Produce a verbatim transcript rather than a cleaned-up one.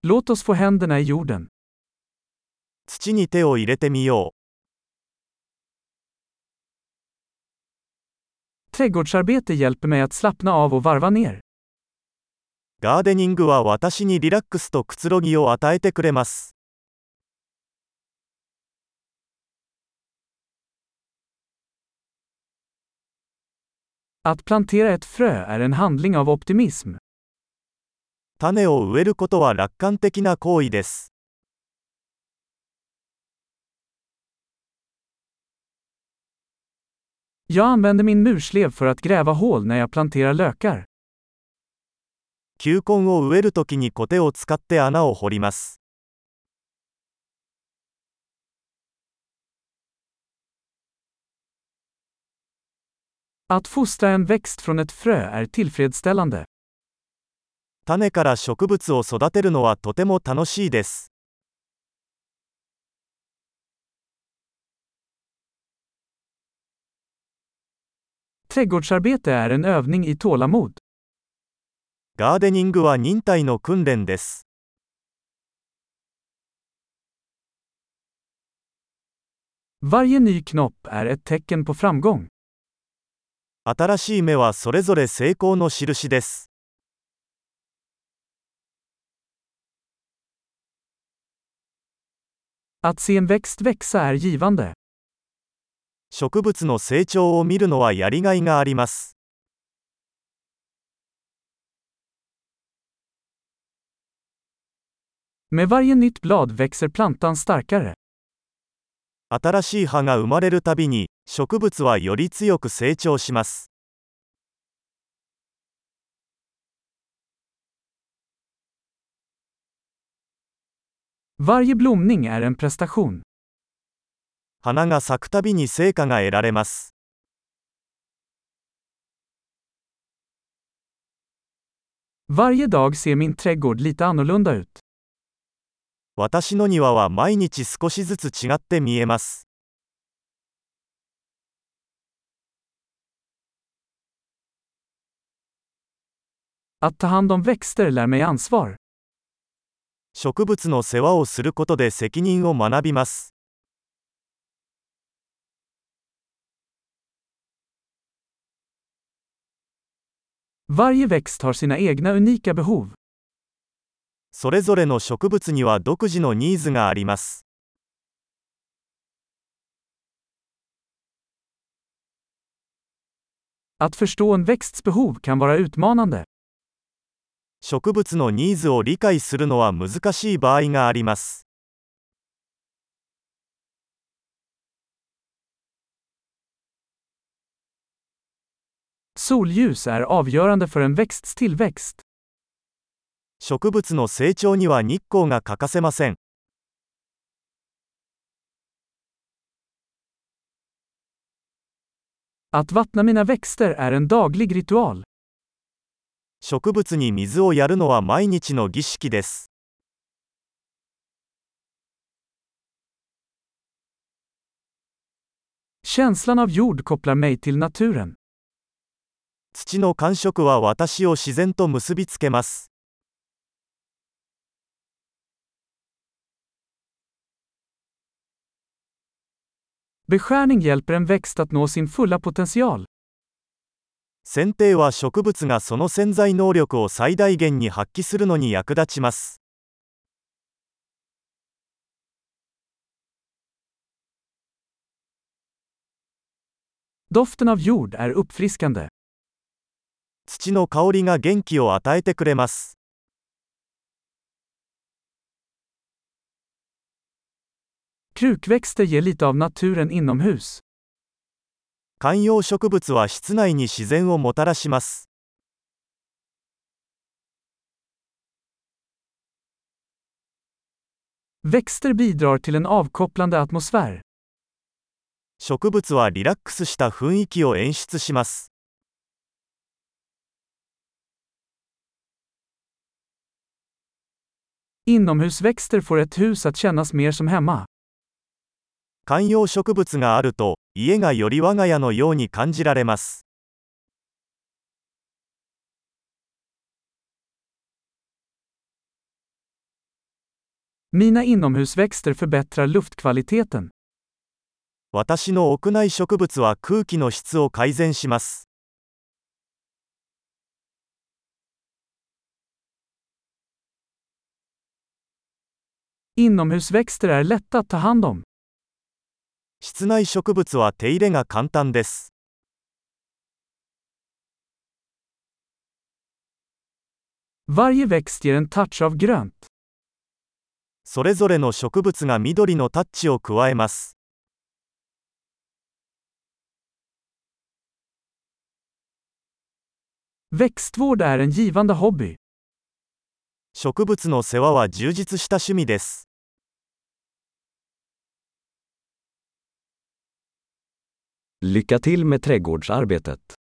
Låt oss få händerna i jorden. 土に手を入れてみよ Trädgårdsarbete hjälper mig att slappna av och varva ner. う。ガーデニングは私にリラックスとくつろぎを与えてくれます。 Att plantera ett frö är en handling av optimism. 種を植えることは楽観的な行為です。 Jag använder min murslev för att gräva hål när jag planterar lökar. 球根を植えるときにコテを使って穴を掘ります。 Att fostra en växt från ett frö är tillfredsställande. 種から植物を育てるのはとても楽しいです。 Trädgårdsarbete är en övning i tålamod. ガーデニングは忍耐の訓練です。 Varje ny knopp är ett tecken på framgång. 新しい芽はそれぞれ成功の印です。 Att se en växt växa är givande. 植物の成長を見るのはやりがいがあります。 Med varje nytt blad växer plantan starkare. 新しい葉が生まれるたびに、植物はより強く成長します。 Varje blomning är en prestation. 花が咲くたびに成果が得られます。 Varje dag ser min trädgård lite annorlunda ut. 私の庭は毎日少しずつ違って見えます。 Att ta hand om växter lär mig ansvar. 植物の世話をすることで責任を学びます。 Varje växt har sina egna unika behov. それぞれの植物には独自のニーズがあります。 Att förstå en växts behov kan vara utmanande. 植物のニーズを理解するのは難しい場合があります。 Solljus är avgörande för en växts tillväxt. 植物の成長には日光が欠かせません。 Att vattna mina växter är en daglig ritual. 植物に水をやるのは毎日の儀式です。 Känslan av jord kopplar mig till naturen. 土の感触は私を自然と結びつけます。 Beskärning hjälper en växt att nå sin fulla potential. 剪定は植物がその潜在能力を最大限に発揮するのに役立ちます。 Doften av jord är uppfriskande. 土の香りが元気を与えてくれます。 Krukväxter ger lite av naturen inomhus. 観葉植物は室内に自然をもたらします。 Växter bidrar till en avkopplande atmosfär. 植物はリラックスした雰囲気を演出します。 Inomhusväxter får ett hus att kännas mer som hemma. 観葉植物があると、家がより我が家のように感じられます。 Mina inomhusväxter förbättrar luftkvaliteten. 私の屋内植物は空気の質を改善します。 Inomhusväxter är lätta att ta hand om. 室内植物は手入れが簡単です。 Varje växt ger en touch av grönt. それぞれの植物が緑のタッチを加えます。 Växtvård är en givande hobby. 植物の世話は充実した趣味です。 Lycka till med trädgårdsarbetet.